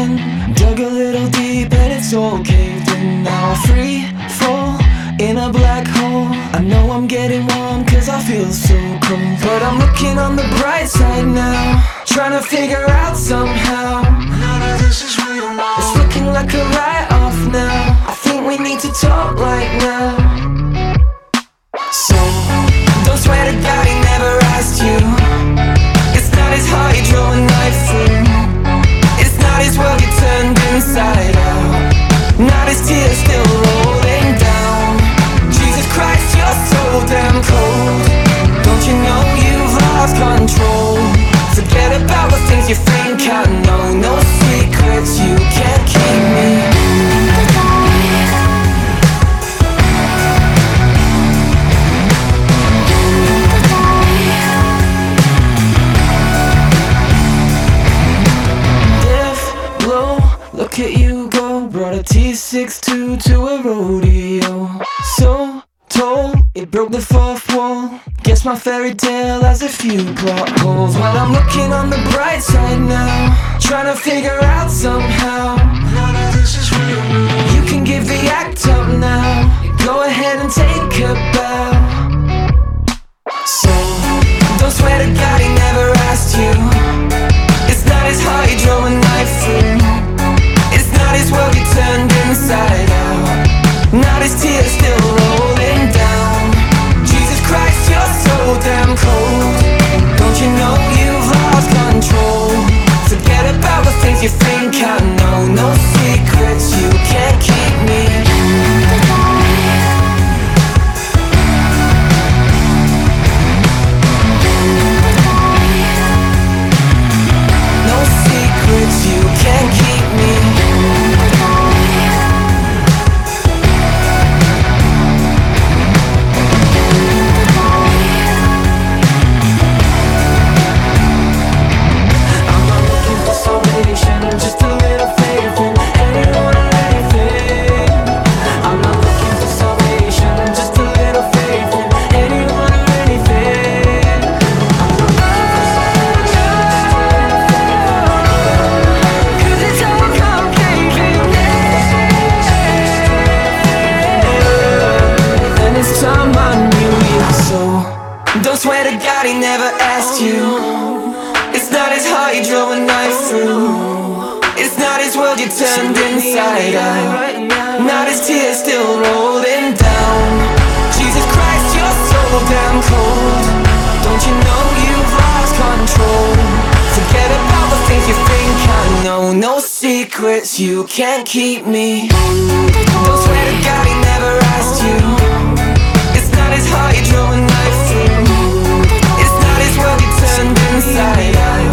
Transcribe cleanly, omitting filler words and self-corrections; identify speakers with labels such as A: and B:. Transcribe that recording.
A: in, dug a little deep and it's all caved in. Now I'm free fall in a black hole. I know I'm getting warm cause I feel so cold, but I'm looking on the bright side now, trying to figure out somehow. None of this is real now. It's looking like a write-off now. I think we need to talk right now. So, don't swear to God he never asked you. It's not his heart he drove a knife through. It's not his world you turned inside out. Not his tears still rolling down. Jesus Christ, you're so damn cold. Don't you know you've lost control? Forget about the things you think I know. No secrets you can't keep me. Look at you go, brought a T62 to a rodeo. So tall, it broke the fourth wall. Guess my fairy tale has a few plot holes. Well, I'm looking on the bright side now, trying to figure out somehow. None of this is real. You can give the act up now. Go ahead and take a bow. So, don't swear to God he never asked you. It's not his heart he drove a knife through. Not his world you turned inside out. Not his tears still rolling down. Jesus Christ, you're so damn cold. Don't you know you've lost control? Forget about the things you think I know. No secrets you can't keep me. No secrets you can't keep me. Don't swear to God he never asked you. It's not his heart he drove a knife through. It's not his world you turned inside out. Not his tears still rolling down. Jesus Christ, you're so damn cold. Don't you know you've lost control? Forget about the things you think I know. No secrets you can't keep me. Don't swear to God he never asked you. It's not his heart he drove a knife through. It's not his world you turned inside out.